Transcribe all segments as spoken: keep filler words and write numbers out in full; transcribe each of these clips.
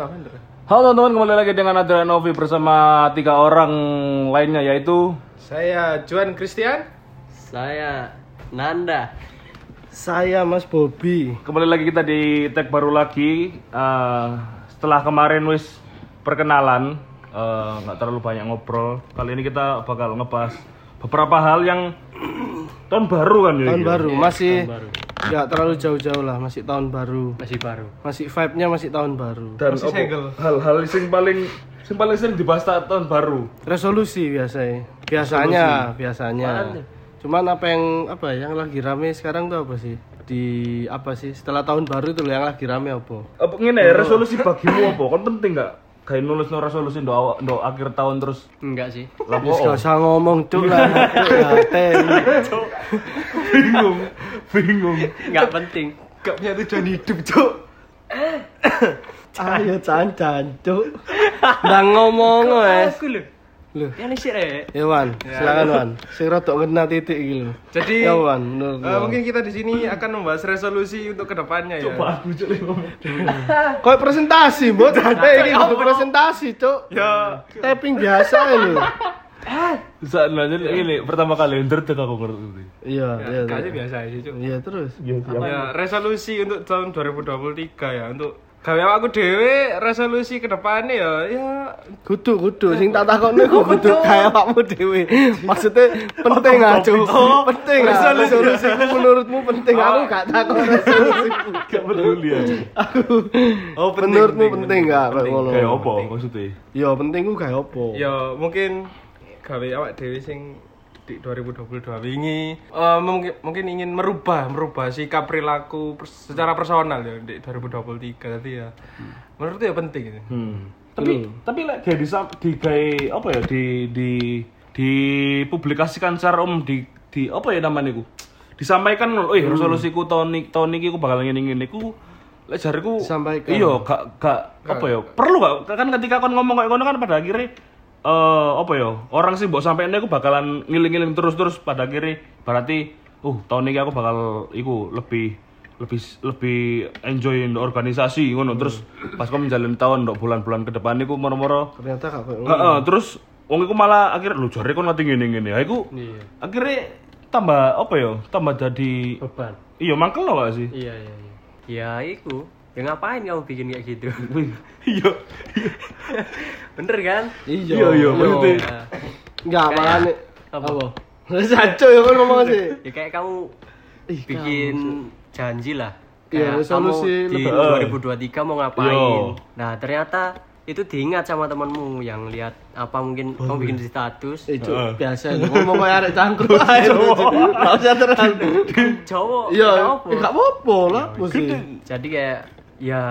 Ah, bener. Halo teman-teman, kembali lagi dengan Adrian Novi bersama tiga orang lainnya, yaitu Saya Juan Christian. Saya Nanda. Saya Mas Bobby. kembali lagi kita di tag baru lagi. Uh, setelah kemarin wis perkenalan, uh, nggak terlalu banyak ngobrol. Kali ini kita bakal ngebahas beberapa hal yang tahun baru kan ya. Tahun gitu? baru masih Tahun baru. nggak terlalu jauh-jauh lah, masih tahun baru. Masih baru. Masih vibe-nya masih tahun baru. Dan Masih apa, segel. hal-hal yang paling yang paling sering dibahas ta- tahun baru. Resolusi biasanya. Biasanya, biasanya. Cuman apa yang apa yang lagi rame sekarang tuh apa sih? Di apa sih? Setelah tahun baru itu loh yang lagi rame apa? Apa ngene ya, resolusi bagimu apa? Kan penting nggak? Kayak nulis no resolusi do awal do akhir tahun terus. Enggak sih. Lah Wis kok gak usah ngomong cuk lah. Cuk, bingung, bingung. Enggak penting. Gak punya tujuan hidup, Cuk. ayo cancan cuk. Nang ngomong wes. Aku lho. Loh. Yang sih rek. Ya Wan, silakan Wan. Sing rodok kena titik iki lho. Jadi Ya Wan, menurut eh, mungkin kita di sini akan membahas resolusi untuk kedepannya ya. Coba aku cuk ngomong. Kau presentasi, Mbok. Eh, ini butuh presentasi, Cuk. Ya, Tapping biasa lho. Saat nanya ini pertama kali ngerti aku ngerti. Iya, iya. kayaknya biasa aja, Cuk. Iya, terus. Ya, resolusi untuk tahun dua ribu dua puluh tiga ya, untuk gawe aku dhewe resolusi kedepannya ya, ya Kudu, kudu sing tak takokne ku kudu kaya awakmu dhewe. Maksudnya penting ah, Cuk. Penting ah. Resolusi menurutmu penting. Aku gak takok resolusiku. Gak peduli aja. oh Menurutmu penting gak kayak ngono? Kayak apa maksudnya? Ya penting ku kayak apa? ya mungkin gawe awak dhewe sing di dua ribu dua puluh dua wingi eh, mungkin mungkin ingin merubah merubah sikap perilaku pers- secara personal ya di dua ribu dua puluh tiga tadi ya. Menurutku ya penting itu. Hmm. Tapi tapi lek kayak di di kayak apa ya di di dipublikasikan secara umum di di apa ya namanya ku? Disampaikan loh, eh resolusiku tahun ini tahun ini aku bakal ngene-ngene ku lek jariku Disampaikan. iya gak gak apa ya perlu gak kan ketika kon ngomong kayak ngono kan pada akhirnya eh apa ya orang sih mbok sampein aku bakalan ngiling-ngiling terus-terus pada akhirnya berarti uh tahun ini aku bakal iku lebih lebih lebih enjoy in organisasi ngono terus pas kau menjalani tahun ndok bulan-bulan ke depan iku moro-moro Ternyata gak kayak ngono. heeh terus wong iku malah akhirnya lu jare kon ngerti ngene-ngene ha iku Iya. akhirnya tambah apa ya tambah jadi Beban. iya mangkel lo gak sih Iya, iya, iya. Ya iku. Ya ngapain kamu bikin kayak gitu? iya Bener kan? Iya, iya iya maksudnya Ya, Enggak, Kayak- makane apa? apa? Saco ya kan ngomong sih. ya kayak kamu Ih, bikin janji lah. Iya, Kayak resolusi kamu di lebih- dua ribu dua puluh tiga mau ngapain. Yo. Nah, ternyata itu diingat sama temanmu yang lihat apa mungkin kamu bikin di status. Eh, Cuk, Heeh. biasa ngomong kayak arek cangkruk ae. Enggak usah terlalu. Cowok, Iya, nggak apa. enggak apa-apa lah, mesti. Jadi kayak ya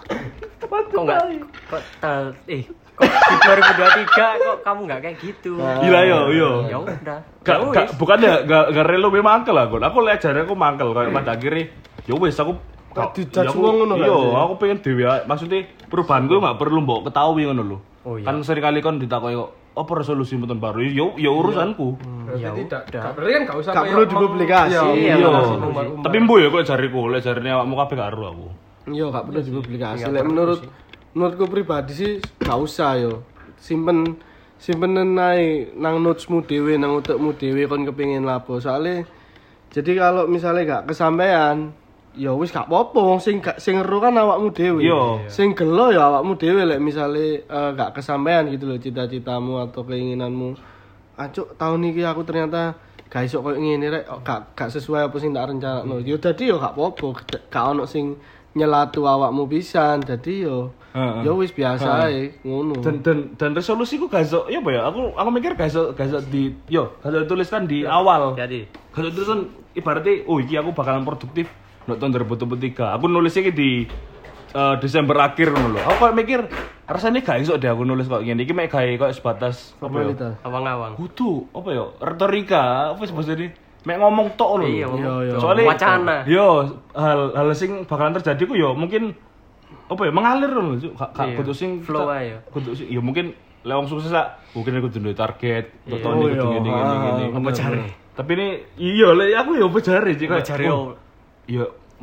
kok nggak kok tal eh kok di dua ribu dua puluh tiga kok kamu nggak kayak gitu. gila yo yo Ya udah. Gak, Ya gak, wis. bukan ya, gak, gak relo memang mangkel lah, Gon. Aku lihat jare aku mangkel kayak pada akhirnya, ya wes aku Gak ya dijudge aku- wong ngono kan, Iya, sih? aku pengen dewe ae. Maksudnya perubahan gue gak perlu mbok ketahui ngono lho. Oh, iya. Kan sering kali kon ditakoki kok apa resolusi tahun baru? Ya ya urusanku. Berarti Ya tidak udah. gak berarti kan gak usah Gak kayak perlu meng- dipublikasi. Iya, Iya, Iya. publikasi umbar-umbar. Tapi mbu ya kok jariku, lek jarine awakmu kabeh gak ero aku. Yo gak perlu dipublikasi. Nggak Lek perlu menurut sih. menurutku pribadi sih gak usah yo. Simpen simpen nae nang notesmu dhewe, nang utekmu dhewe kon kepengin lapo. Soale jadi kalau misalnya gak kesampaian, ya wis gak apa-apa wong sing gak sing ero kan awakmu dhewe. Iya. Sing gelo ya awakmu dhewe lek misale eh, gak kesampaian gitu loh cita-citamu atau keinginanmu. Acuk tahun iki aku ternyata gak iso koyo ngene rek, oh, gak gak sesuai apa sing tak rencanakno. Yo dadi yo gak apa-apa, gak ono sing nyelatu awakmu pisan. Dadi yo Heeh. yo wis biasa ae ngono. Dan dan dan resolusiku gak iso, ya apa ya? Aku aku mikir gak iso gak iso di yo, gak iso dituliskan di awal. Jadi Gak iso dituliskan ibaratnya oh iki aku bakalan produktif untuk tahun dua ribu dua puluh tiga. Aku nulisnya iki di eh, Desember akhir ngono lho. Aku kok mikir rasanya gak iso deh aku nulis kok ngene iki mek gawe kok sebatas apa ya? Formalitas. awang-awang. Kudu apa ya? Retorika apa sih maksudnya? Mek ngomong tok ngono Iya, lho. Iya, iya. Soalnya wacana. Yo, hal hal sing bakalan terjadi ku yo mungkin apa ya mengalir ngono Cuk. Gak gak Iya, kudu sing flow ae yo. kudu sing ya mungkin lek wong sukses lah mungkin aku duwe target untuk Iya. tahun ini Oh, kudu iya. ngene ngene Ah, ngene. apa cari? Tapi ini iya lek aku ya apa jare sih Apa kayak, jare oh, yo? Iya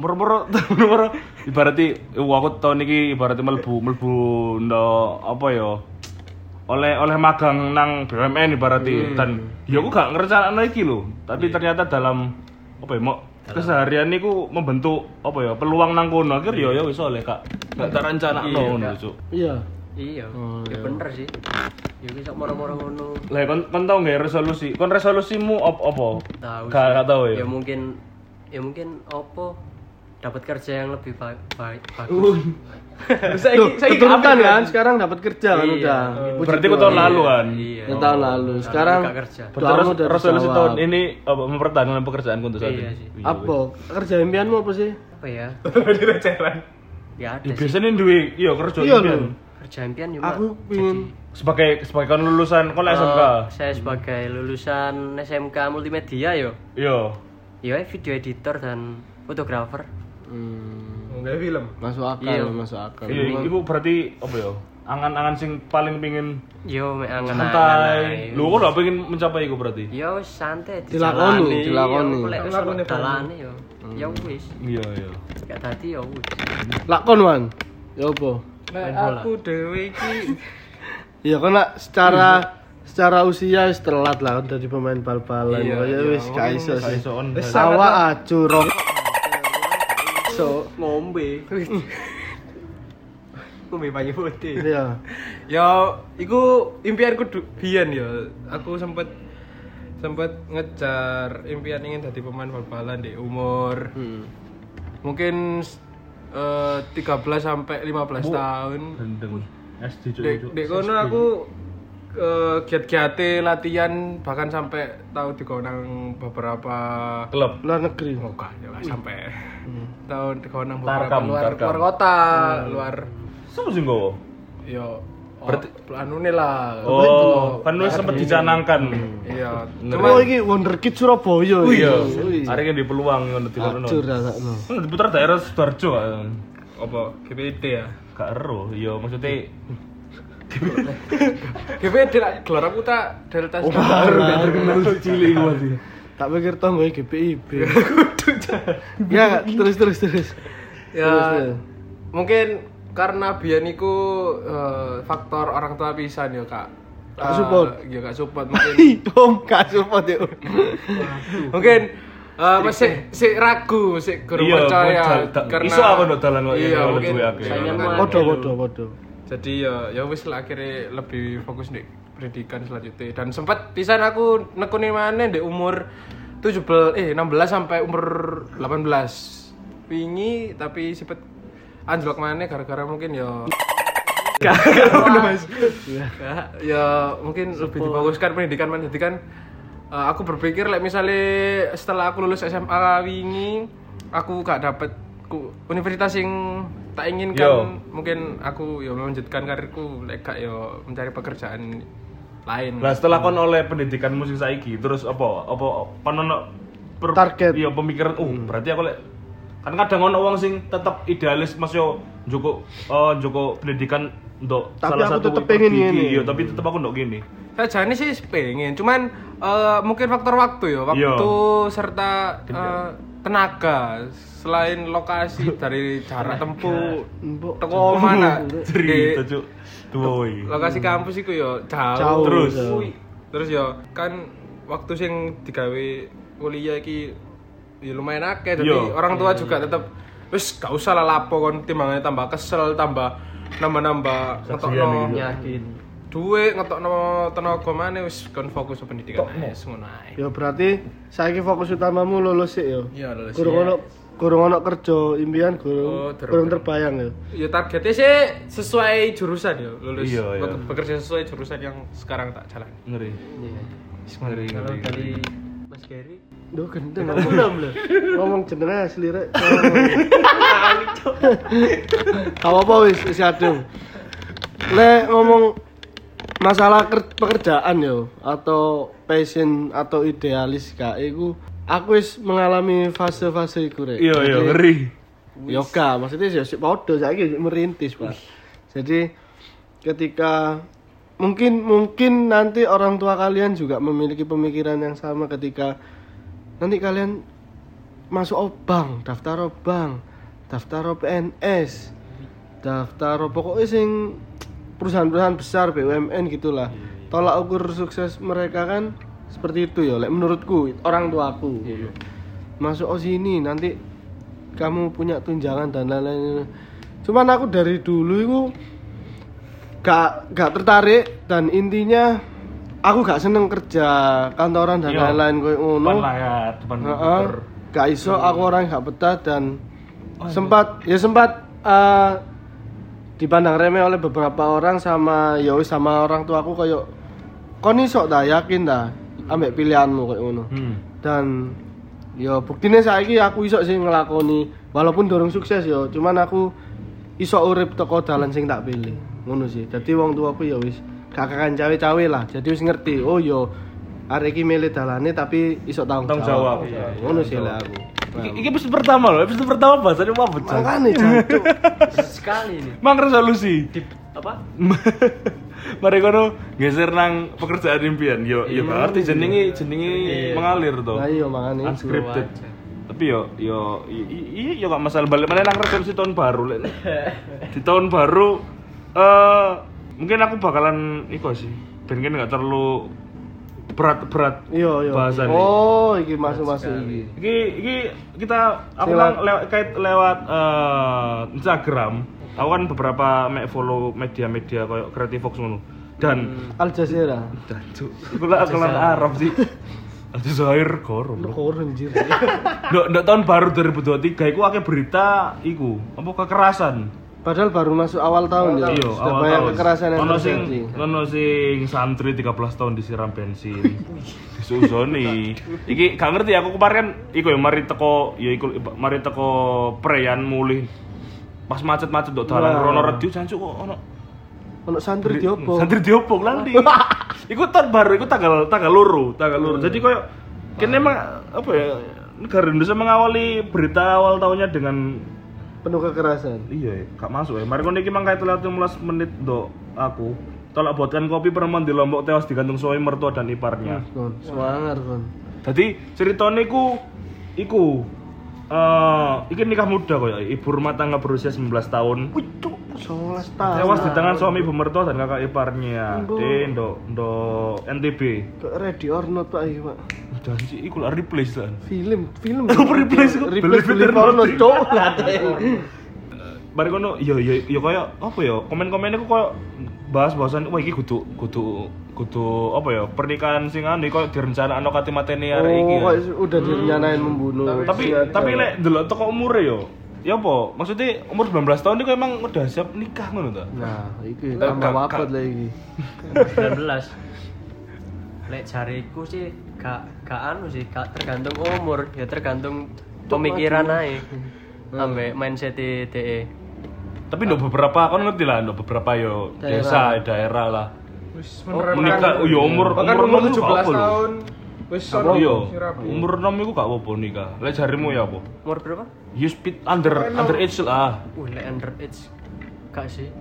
moro-moro moro ibarati wah aku tahun iki ibarati mlebu mlebu ndo apa ya oleh oleh magang nang B U M N ibarati dan ya aku gak ngerencanakno iki lho tapi ternyata dalam apa ya mau keseharian niku membentuk apa ya peluang nang kono akhir ya ya wis oleh kak gak tak rencanakno ngono cuk Iya. Iya, ya bener sih. Ya wis kok moro-moro ngono. lah kon kon tau nggak resolusi kon resolusimu op apa Tahu. gak gak tau ya Ya mungkin ya mungkin opo dapat kerja yang lebih ba- baik bagus. Tuh, keturutan kan sekarang dapat kerja kan Iya. udah. Puji berarti ku Tuhan. tahun lalu kan Iya. Ya, tahun lalu. Sekarang Gak kerja. Terus doamu udah resolusi dijawab. tahun ini apa mempertahankan pekerjaanku untuk saat Iya ini sih. Apa? Kerja impianmu apa sih? Apa ya? Di recehan. Ya ada Ya, sih. biasanya duwe iya kerja Iya impian. lho. Kerja impian cuma Aku pingin sebagai sebagai kon lulusan kon Eh, S M K. saya sebagai lulusan S M K multimedia yo. Iya. Ya video editor dan fotografer. hmm, Enggak film. masuk akal, Iya. masuk akal. Iya, ibu berarti apa ya? Angan-angan sing paling pingin Yo mek santai. Lu kok gak pengen mencapai iku berarti? Ya wis santai Dilakoni, dilakoni. Ya, lek wis Dilakoni, dalane yo. Ya wis. Iya, iya. Gak tadi ya wis. Lakon wan. Ya apa? Nah, aku dewe iki Ya kan lah, secara secara usia wis telat lah kan dadi pemain bal-balan. Iya, Ya iya, wis gak iso Gak sih. iso on. Wis Awak acu rok. So ngombe. Ngombe banyu putih. Iya. ya iku impianku du- biyen ya. Aku sempet sempet ngejar impian ingin jadi pemain bal-balan di umur Hmm. mungkin eh, tiga belas sampai lima belas tahun. Gendeng. S D cuk. Dek cuk. dek kono aku eh, giat-giate latihan bahkan sampai tahu digonang beberapa klub. Luar negeri. oh gak ya gak sampai tahun digonang Tarkam, beberapa luar Tarkam. luar kota luar Sopo sing gowo? yo Berarti- berarti anu nih lah Oh, kan lu sempat dicanangkan. iya Oh cuma iki Wonderkid Surabaya. Iya. Wih. Hari ini di peluang ngono di kono. Acur rasakno. Kan diputar daerah Sidoarjo kan. apa G P I D ya Gak ero, iya maksudnya G P I D lah gelar aku tak Delta Oh, Star. baru terkenal cilik masih. Tak pikir tonggo G P I B. Ya, terus terus terus. ya Terus, terus. mungkin karena biyen iku eh, faktor orang tua pisan yo kak. Gak Eh, support. ya gak support mungkin Om, gak support ya. mungkin eh, masih si ragu masih kurang Iya, percaya modal- da- karena iso apa no dalan kok iya ini oleh mungkin duwe akeh. Saingan kan. mah. Podo podo podo. Jadi ya ya wis lah akhirnya lebih fokus di pendidikan selanjutnya dan sempat pisan aku nekuni maneh di umur tujuh belas eh enam belas sampai umur delapan belas wingi tapi sempet anjlok maneh gara-gara mungkin ya Gak, ya mungkin lebih difokuskan pendidikan mana jadi kan eh, aku berpikir like, misalnya setelah aku lulus S M A wingi aku gak dapet ku, universitas yang tak inginkan Yo. mungkin aku ya melanjutkan karirku like, gak ya mencari pekerjaan lain lah setelah kon oleh pendidikan musik saiki terus apa apa kon ono per- Target. iya pemikiran oh berarti aku lek kan kadang ono wong sing tetep idealis mas yo njoko eh njoko pendidikan untuk Tapi salah aku satu tetep pengen pergi- ngene. iya tapi tetep aku ndok gini saja ini sih pengen cuman eh, mungkin faktor waktu ya waktu Iya. serta eh, tenaga selain lokasi dari jarak tempuh Mbok. teko mana cerita Di- cuk tuh iki lokasi kampus iku yo jauh, Jauh, terus. jauh. terus yo kan waktu sing digawe kuliah iki ya lumayan akeh jadi Yo. orang tua juga tetep wis gak usah lah lapo kon timbangannya tambah kesel tambah nambah-nambah Saksian ngetokno iki. Yakin. duit ngetokno tenaga maneh wis kon fokus ke pendidikan wis ngono ae Ya berarti saiki fokus utamamu lulus sih yo. iya lulus Kurang ono kurang ono kerja impian Oh, kurang terus. kurang terbayang ya. ya targetnya sih sesuai jurusan ya lulus Iya, iya. Be- bekerja sesuai jurusan yang sekarang tak jalani ngeri Iya. ngeri Kalau ngeri dari Mas Gary Duh gendeng ngomong. Ngomong jenenge asli rek. Apa apa wis wis adem. Le ngomong masalah ker- pekerjaan yo atau passion atau idealis gak iku aku wis mengalami fase-fase iku rek. iya iya Jadi, ngeri Yoga, maksudnya ya sik padha saiki merintis, Pak. Jadi ketika mungkin mungkin nanti orang tua kalian juga memiliki pemikiran yang sama ketika nanti kalian masuk o bank, daftar o bank, daftar o P N S, daftar o pokoknya sing perusahaan-perusahaan besar B U M N gitulah. Tolak ukur sukses mereka kan seperti itu ya, like, menurutku orang tuaku. Masuk o sini nanti kamu punya tunjangan dan lain-lain. Cuman aku dari dulu itu gak gak tertarik dan intinya aku gak seneng kerja kantoran dan lain-lain koyo ngono. Depan layar, depan Heeh. Gak iso aku orang gak betah dan sempat ya sempat uh, dipandang remeh oleh beberapa orang sama ya wis sama orang tua aku koyo kon iso ta yakin ta ambek pilihanmu koyo ngono. Hmm. Dan ya buktine saiki aku iso sih ngelakoni walaupun dorong sukses ya, cuman aku iso urip teko dalan sing tak pilih. Ngono sih. Dadi wong tuaku ya wis gak kakan cawe-cawe lah. Jadi wis ngerti, oh yo arek iki milih dalane tapi iso tanggung Tanggung jawab. jawab, iya. Ngono sih lah aku. Iki, iki episode pertama loh, episode pertama bahasanya apa bocah? Makane jancuk. Sekali ini. Mang resolusi. Di apa? Mari kono geser nang pekerjaan impian. Yo yo gak arti jenenge jenenge mengalir to. Lah iya makane. Unscripted. Tapi yo yo iya yo gak masalah balik mana nang resolusi tahun baru lek. Di tahun baru eh mungkin aku bakalan iku sih. Ben kan gak terlalu berat-berat Iya iya. bahasannya. Oh, iki masuk-masuk iki. Iki iki kita aku Silat. kan lewat kait lewat eh, Instagram. Aku kan beberapa mek follow media-media kayak Creative Fox ngono. Dan Al Jazeera. Dancuk. Iku lah kelan Arab sih. Aljazair korum. Kok anjir. Ndok ndok tahun baru dua ribu dua puluh tiga iku akeh berita iku, apa kekerasan. Padahal baru masuk awal tahun ya. Iya, Sudah awal banyak tahun. kekerasan yang Ono sing terjadi. ono sing santri tiga belas tahun disiram bensin. Disusoni. Iki gak ngerti aku kemarin kan iku ya mari teko ya iku mari teko preyan mulih. Pas macet-macet ndok dalan Wah. rono redio jancuk kok ono Ono santri diopo. Santri diopong nanti. Iku tahun baru, iku tanggal tanggal loro, tanggal loro. Jadi koyo kene emang apa ya negara Indonesia mengawali berita awal tahunnya dengan Penuh kekerasan. iya ya, gak masuk ya. Mari kono iki mang kait lewat lima belas menit ndok aku. Tolak buatkan kopi perempuan di Lombok tewas digantung suami mertua dan iparnya. Kon, semangat kon. Jadi ceritanya iku iku eh iki nikah muda kok ya, ibu rumah tangga berusia sembilan belas tahun. sebelas tahun. Tewas di tangan suami ibu mertua dan kakak iparnya. Ndok. Di ndok ndok N T B. Kok ready or not Pak iki, Pak? Janji iku lah replace kan. Film, film. Apa replace kok? Replace Beli film or not, cok. Mari kono iya iya iya kaya apa ya? Komen-komennya kok kaya bahas-bahasan wah iki kudu kudu kudu apa ya? Pernikahan sing anu kaya direncanakno kate mateni arek iki. Oh, ya. kok udah direncanain membunuh. Tapi Siap, tapi siap. lek delok teko umure yo. Ya apa? Maksudnya umur sembilan belas tahun itu emang udah siap nikah ngono ta? Nah, iki Gak- tambah gak- wafat lah iki. sembilan belas. Lek jariku sih gak gak anu sih, gak tergantung umur, ya tergantung pemikiran ae. Ambek mindset D E. Tapi ndok beberapa kan ngerti lah, ndok beberapa yo desa, daerah lah. Wis Menikah yo umur bahkan umur umur enam tujuh iku belas gak apa lho. tahun wis Iya, sono sing rapi. umur enam iku gak apa-apa nikah. Lek jarimu ya apa? Umur berapa? You speed under under age lah. Uh, lek underage gak sih.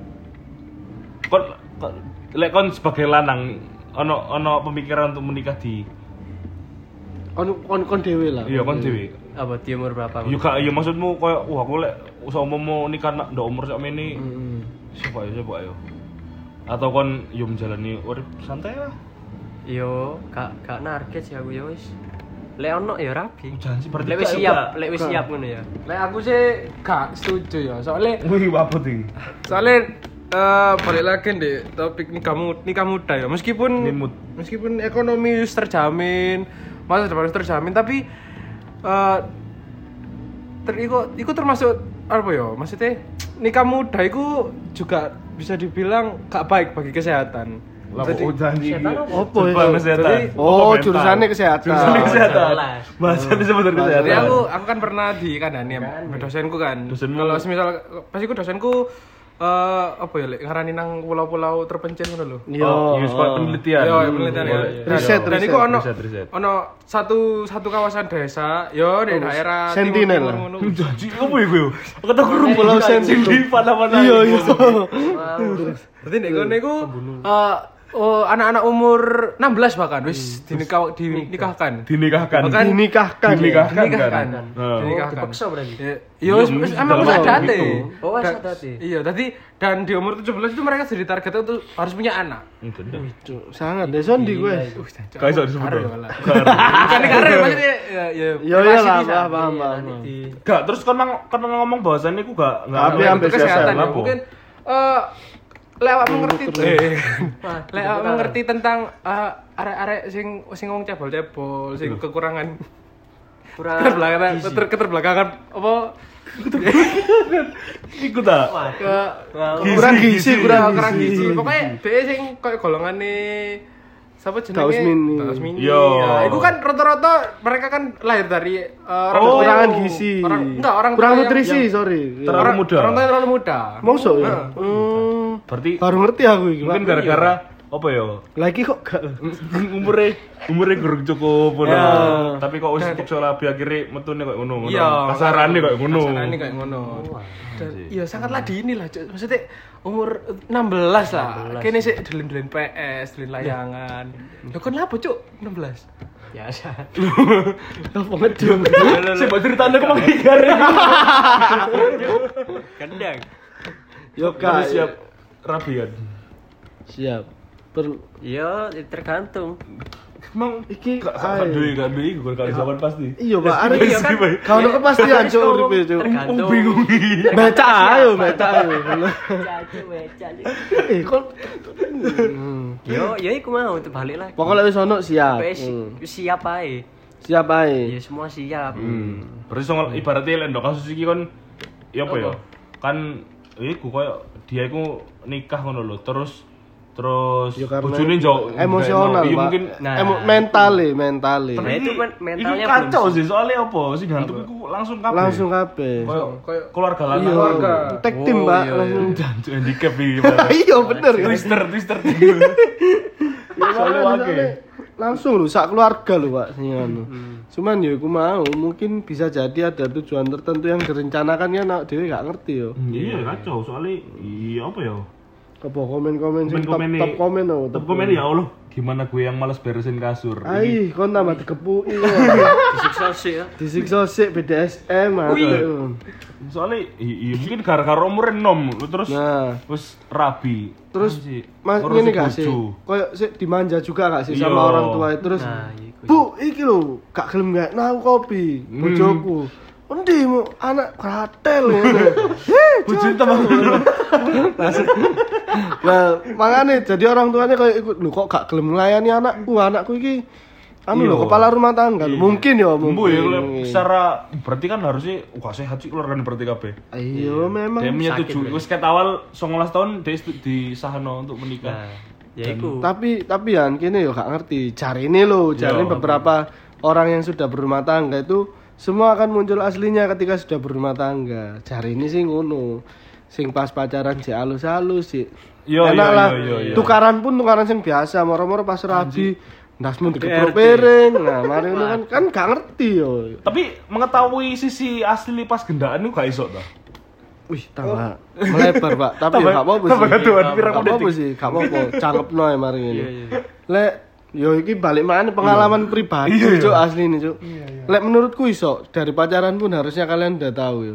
Kon kon- lek kon sebagai lanang ono ono pemikiran untuk menikah di Kon kon kon dhewe lah. iya kon dhewe. Apa di umur berapa? Yo gak yo maksudmu koyo wah aku lek usama mau nikah nak ndok umur sak meni Heeh. siapa ya siapa ya. Atau kon yo menjalani urip santai lah. Yo, gak gak narget sih aku yo wis. Lek ono ya rabi. Jangan sih berarti Lek wis gak- siap, gak- lek wis siap ngono ya. Lek aku sih gak setuju ya. Soalnya Wih, apa tuh? soalnya eh balik lagi deh topik nikah muda, nikah muda ya. Meskipun Nimut. meskipun ekonomi wis terjamin, masa depan wis terjamin, tapi eh ter iku, iku termasuk apa ya? Maksudnya nikah muda iku juga bisa dibilang gak baik bagi kesehatan. Lah Jadi- kok janji. Apa ya? Serba kesehatan. Jadi- Oh, Apa jurusannya mental? kesehatan. Jurusannya kesehatan. Jelas. Bahasanya sebenarnya kesehatan. Jadi aku aku kan pernah di kandani ya, dosenku kan. Dosenmu. Kalau semisal pasti ku dosenku eh apa ya lek ngarani nang pulau-pulau terpencil ngono lho. Yo, Oh, iya, sekolah penelitian. Yo, penelitian ya. Boleh. Riset, Dan riset, iku ono riset, riset. ono satu satu kawasan desa, yo di daerah Sentinel timur lah. ngono. Janji apa ya gue? Kata gue rumah Pulau sing Sentinel. di mana-mana. Iya, iya. Berarti nek kono iku eh oh, anak-anak umur enam belas bahkan wis dinikah dinikahkan. Dinikahkan. Bahkan Dinikahkan. Dinikahkan dinikahkan. kan. Heeh. Dinikahkan. Dipaksa berarti. Ya wis wis emang wis ada ate. Oh, wis Dan- ada ate. Iya, tadi dan di umur tujuh belas itu mereka jadi target untuk harus punya anak. Gendeng. Cuk, sangat deh sondi gue. Gak iso disebut. Karir dong. malah. Bukan karir maksudnya ya ya. Ya privasi iya lah, bisa. paham paham. Iya, paham. nanti di Gak, terus kan mang kan ngomong bahwasannya aku gak gak Tapi Nah, ambil itu kesehatan siasat, ya. apa? Mungkin eh lewat mengerti eh Wah, lewat mengerti tentang eh, arek-arek sing sing ngomong cebol-cebol, sing kekurangan kurang keterbelakangan keter, keterbelakangan apa ikut tak? ke Kurang gizi, kurang kurang gizi. gizi. Pokoknya dia sing koyo golongane siapa jenenge? Kaos mini. Kaos mini. Yo. Ya, itu kan rata-rata mereka kan lahir dari eh, orang Oh, tua Kekurangan yang- gizi. Orang enggak orang kurang tua yang- nutrisi, yang- sorry. Terlalu orang, muda. Orang tua yang terlalu muda. Mosok ya? Nah. Hmm. Berarti Baru ngerti aku iki. mungkin Pak. gara-gara apa ya? Lagi kok gak umure umure kurang cukup ngono. Ya. Tapi kok wis cukup labi akhirnya metune koyo ngono. ngono. Iya, Kasarane koyo ngono. Kasarane kayak ngono. Dan iya sangatlah dini lah, Cuk. Maksudnya umur enam belas lah. Kene sik dolen-dolen P S, dolen layangan. Lho kon lapo, Cuk? enam belas. biasa. Apa ngedung. Sing mbok critane kok mang igare. Kendang. Yo Kak kak. siap rabian. Siap. Per Iya, tergantung. Emang iki gak ae. gak duwe gak duwe iku kan zaman pasti. Iya, Pak. Arek Iya, kan. Pak. Kau ono kepastian cuk uripe cuk. Tergantung. Bingung. Baca ayo, baca ayo. Cacu, cacu. Eh, kok Yo, yo iku mau untuk balik lagi. pokoknya wis ono siap. Wis Hmm. wis siap ae. Siap ae. Ya semua siap. Berarti soal ibaratnya lek ndok kasus iki kon ya apa ya? Kan iku koyo dia iku nikah ngono lho, terus terus Ya karena bojone njok emosional, iya Pak. mungkin Nah. Emo- mentale, mentale. Nah, itu men- mentalnya iku kacau belum sih soalnya apa sih ngantuk iku langsung kabeh. Langsung kabeh. koyo Koyo keluarga lanang. Iya, keluarga. tag team, Oh, Pak. iya, Langsung. Jancuk handicap iki. Iya, bener ya. Twister twister. Soalnya Soalnya wake. soalnya langsung lho sak keluarga lho Pak sing anu. Cuman ya aku mau mungkin bisa jadi ada tujuan tertentu yang direncanakan ya nak dhewe gak ngerti yo. Iya kacau soalnya iya apa ya? Apa komen-komen sing top, Komen-komen top komen oh. Top komen ya Allah, gimana gue yang malas beresin kasur. Ai, kon tambah digepuki ya. disiksa sih ya. Disiksa sik B D S M atau. Soalnya i- iya mungkin gara-gara umurnya enom terus Nah, terus rabi. terus sih Mas ngurusi ini gak sih? bojo. Koyo sik dimanja juga gak sih Iya. sama orang tua terus. Nah, iku. Bu, iki lho, gak gelem gak nah kopi, bojoku. Endi mu anak kratel ngene. Heh, Bojone tambah Nah, makanya jadi orang tuanya kayak ikut, lu kok gak gelem nglayani anakku, anakku iki anu lho Iya. kepala rumah tangga lho. Mungkin ya, Mumpu mungkin. ya kalau secara berarti kan harusnya wah sehat sih keluarga berarti kabeh. Iya, memang. Dia menyetujui wis ket awal sembilan belas tahun dia setu- disahno untuk menikah. Nah, ya iku. Tapi tapi ya kene yo gak ngerti. Cari ini loh, cari Iya. beberapa orang yang sudah berumah tangga itu semua akan muncul aslinya ketika sudah berumah tangga. Cari ini sih ngono. Sing pas pacaran si halus-halus sih. Iya, Enak iya, lah. iya, iya. Tukaran pun tukaran sing biasa, moro-moro pas rabi ndasmu dikeprok piring. Nah, mari ngono kan kan gak ngerti yo. Tapi mengetahui sisi asli pas gendaan itu gak iso ta. Wih, tambah melebar, Pak. Tapi ya gak apa-apa sih. tambah ketuaan pirang Gak apa-apa menit. sih, gak apa-apa. Cangkepno ae mari ngene. Iya, iya. Lek yo iki balik mana pengalaman pribadi Iya, iya. Cuk, asli nih, Cuk. Lek menurutku iso dari pacaran pun harusnya kalian udah tahu yo.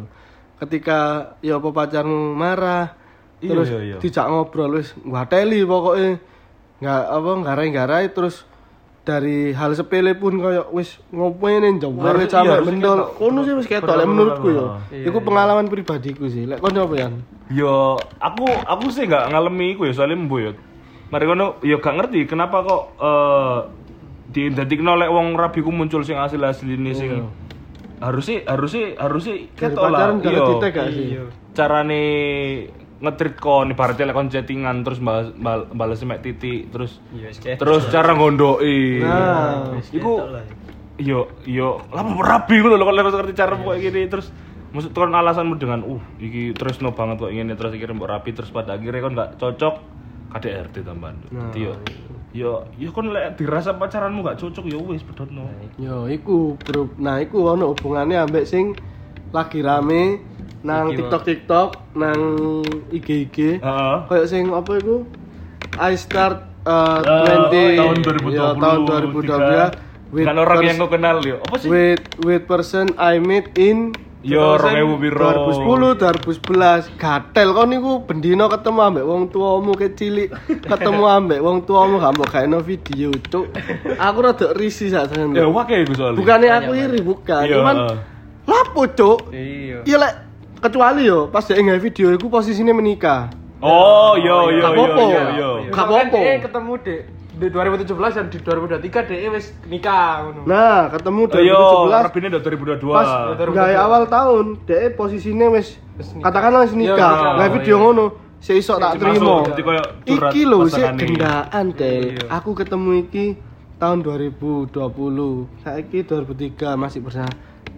Ketika ya apa pacarmu marah Iya, terus iya, iya. dijak ngobrol wis ngwateli pokoknya nggak apa ngarai-ngarai terus dari hal sepele pun kayak wis ngopeni njombe Harus- sampe iya, harus mendol. ketok. Kono sih wis ketok lek Bener-bener, menurutku yo. iya, Iku iya. pengalaman pribadiku sih. Lek kono apa ya? Yo, aku aku sih nggak ngalami iku ya soalnya mbu yo. Mari kono yo gak ngerti kenapa kok eh diindadikno lek wong rabiku muncul sing asli-asline sing harusnya harusnya harusnya Dari ketok lah. pacaran gak Iya. ngerti gak sih? Carane nge-treat kon ibaratnya lek kon chattingan terus balas bal- bales mek titik terus Iya, wis kayak- terus cara ngondoki. Nah, wis iku ketok lah. yo yo lama rabi ngono lho kalau ngerti cara kayak gini terus maksud kon alasanmu dengan uh iki terus no banget kok ingin terus akhirnya mbok rapi terus pada akhirnya kon gak cocok K D R T tambahan. Dadi yo yo yo kon lek dirasa pacaranmu gak cocok yo wis pedotno. Yo, iku bro. Nah, iku ono hubungannya ambek sing lagi rame nang Iki, TikTok TikTok, nang I G I G. Heeh. Kayak sing apa iku? I start uh, Oh, twenty tahun dua ribu dua puluh ya, tahun dua ribu dua puluh tiga. with Dengan orang pers- yang kau kenal yo. Apa sih? with with person I met in Yo dua ribu piro. dua ribu sepuluh dua ribu sebelas gatel kok niku bendino ketemu ambek wong tuamu kecilik ketemu ambek wong tuamu gak mbok gaeno video cuk aku rada risih sak Ya sampeyan wae iku soalnya. bukannya aku iri bukan Iya, cuman heeh. lapo cuk Iya. iya lek kecuali yo pas dia nge video iku posisinya menikah Oh, yo yo Gak yo apa-apa. yo yo. Gak Misalkan apa-apa. dia ketemu di di dua ribu tujuh belas dan di dua ribu dua puluh tiga dia wis nikah ngono. nah ketemu Oh, dua ribu yo, tujuh belas Rabine dua ribu dua puluh dua. pas dua ribu gaya dua puluh. awal tahun dia posisinya wis Wis nikah. katakanlah wis Iya, nikah nikah. nggak video Iya. ngono seisok tak Masuk, terima berarti koyo curhat iki lho sik pasangane. gendaan Del Iya. aku ketemu iki tahun dua ribu dua puluh saiki dua ribu tiga masih bersama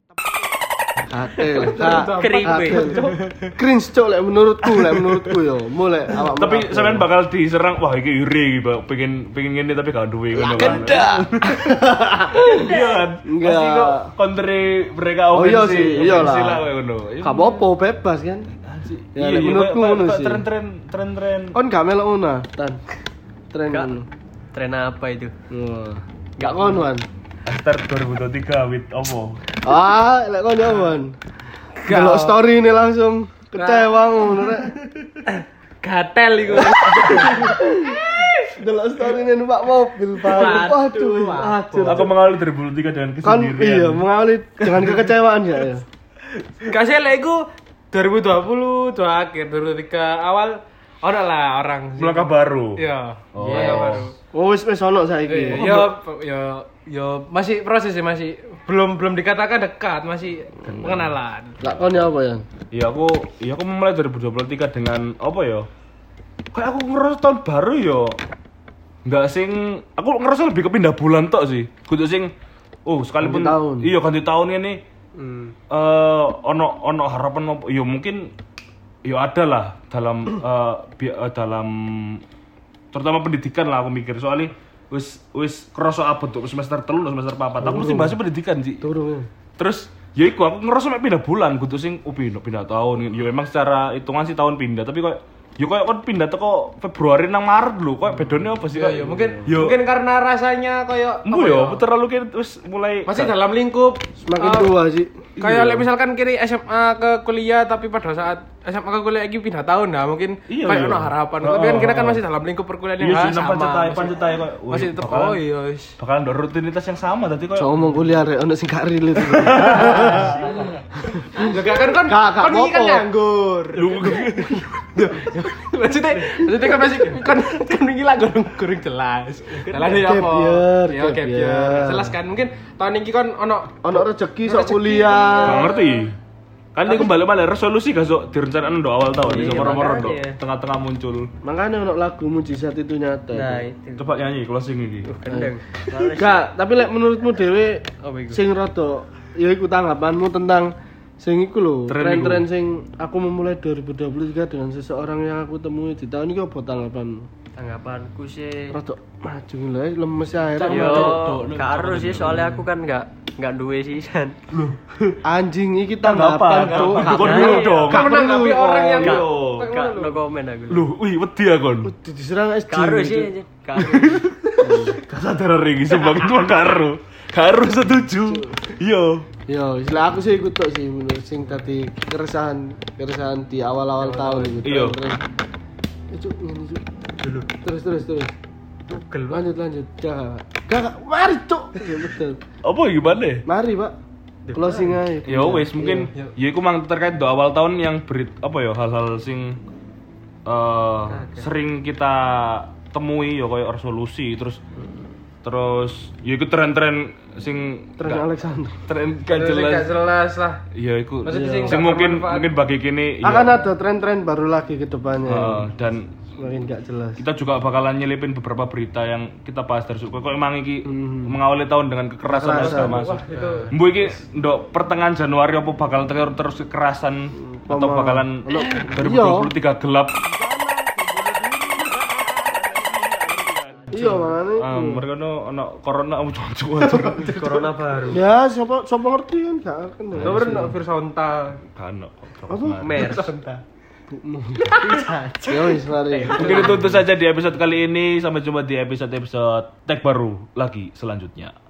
Atel, Kripe. cringe cok lek menurutku, lek menurutku yo, mulai awak. Tapi sampean bakal diserang, wah iki iri iki, Pak. Pengen pengen ngene tapi gak duwe ngono kan. Iya kan? Enggak. Pasti kok kontre mereka Oh iya ofensif. sih, iyalah. ofensif lah kayak ngono. Gak apa-apa, bebas kan. Ya, Iya, lek iya, menurutku kayak- ngono kayak sih. Tren-tren tren-tren. Kon gak melok ngono, Tan. Tren Gak. ngono. Tren apa itu? Wah. Gak kono kan. After dua ribu dua puluh tiga with Omo. Ah, lek kon jaman. Kalau story ini langsung kecewa ngono rek. Gatel iku. Delok story ini numpak mobil baru. Waduh, aduh. Aku mengawali dua ribu dua puluh tiga dengan Kan kesendirian. iya, mengawali dengan kekecewaan ya. ya. Gak sih lek iku dua ribu dua puluh dua akhir dua ribu dua puluh tiga awal ono lah orang sih. Melangkah baru. Iya. Oh. Melangkah baru. Oh, wis wis ono saiki. Eh, Yo yo yo masih proses sih masih belum belum dikatakan dekat masih pengenalan. Lak kon ya apa ya? Iya aku, iya aku memulai dua ribu dua puluh tiga dengan apa ya? Kayak aku ngerasa tahun baru yo. Enggak sing, aku ngerasa lebih ke pindah bulan tok sih. Kudu sing, oh sekalipun Ganti tahun. iya ganti tahun ini, Hmm. eh ono ono harapan apa? Yo mungkin, yo ada lah dalam eh, bi- eh, dalam terutama pendidikan lah aku mikir soalnya wis wis kerasa abot tuh semester telu semester papat. Aku mesti bahas pendidikan sih. Turun. Terus ya iku aku ngerasa mek pindah bulan kudu sing oh pindah pindah tahun. Ya emang secara hitungan sih tahun pindah tapi kok ya kok kon pindah teko Februari nang Maret lho. Kok bedone apa sih? Iya, iya, mungkin Yo. mungkin karena rasanya kayak Embo ya, terlalu kayak terus mulai masih dalam lingkup Semakin eh, tua sih. kayak lek misalkan kiri S M A ke kuliah tapi pada saat S M A ke kuliah lagi pindah tahun nah mungkin Iya, kayak iya. ono harapan Oh, tapi kan kita kan oh. masih dalam lingkup perkuliahan Iya yang sih, ah, nang sama pancetai masih- pancetai kok. wih, masih tetep bakalan- oh iya wis. Bakalan ada rutinitas yang sama tadi kok. So ngomong kuliah rek ono sing gak relate. Ya gak kan kan Gak, gak kan ini kan apa-apa. nganggur. Lu Maksudnya maksudnya kan masih kan kan ini lah kurang kurang jelas. Dalan ya Gap apa? year, Ya gap gap year. year. Jelas kan mungkin tahun ini kan ono Ono rezeki sok Rezeki. kuliah. Gak ngerti. Kan ini kembali malah resolusi gak sok direncanakan do awal tahun Iya, bisa moro-moro do makanya. tengah-tengah muncul. Makanya ono lagu mujizat itu nyata. Nah, itu. itu. Coba nyanyi closing iki. Gendeng. Gak, tapi lek menurutmu dhewe Apa iku? sing rada ya iku tanggapanmu tentang sing iku lho, Tren tren-tren sing aku memulai dua ribu dua puluh tiga dengan seseorang yang aku temui di tahun ini apa tanggapanmu? Tanggapanku sih Rada maju lho, lemes akhirnya. yo Dok, gak harus sih soalnya aku kan gak gak duwe sisan. Anjing iki tanggapan Tanggapan, tuh. tanggapan. Gak Kon perlu dulu dong. Gak perlu menanggapi orang yang Iya. Kayak Gak ngono no lho. komen aku. Loh, wih, wedi ya kon. Di- diserang S J. Gak harus sih, gitu. gak harus. Gak sadar ringi sumpah cuma karo. Karo setuju. Iya. Yo, istilah aku sih ikut tok sih menurut sing tadi keresahan keresahan di awal-awal tahun gitu. Iya. Itu ngene Cuk. Dulu. Terus terus terus. Tugel Pak. Lanjut lanjut. Gak. Gak, gak. Mari Cuk. Ya betul. Apa gimana? Mari, Pak. Closing aja. Ya wes mungkin Iya. ya iku mang terkait do awal tahun yang berit apa ya hal-hal sing eh sering kita temui ya kayak resolusi terus terus ya iku tren-tren sing Tren gak- Alexander. tren gak Terus jelas. gak jelas lah. Iya iku. Maksudnya Sing sing gak mungkin bermanfaat. mungkin bagi kini ya, Akan ada tren-tren baru lagi ke depannya. eh, dan Semakin gak jelas. kita juga bakalan nyelipin beberapa berita yang kita bahas dari suku. Kok emang iki mengawali tahun dengan kekerasan yang segala masuk. Wah, itu Mbu iki ndok pertengahan Januari apa bakal terus terus kekerasan atau Pema- bakalan Ono- dua ribu dua puluh tiga gelap. Iya, makanya. Ah, mereka no ono corona mau cocok Corona baru. Ya, siapa siapa ngerti kan gak akan. ya. Nomor no virus onta. kan Apa? Mers. ibukmu. Ya wis mari. Mungkin itu, itu saja di episode kali ini. Sampai jumpa di episode-episode tag baru lagi selanjutnya.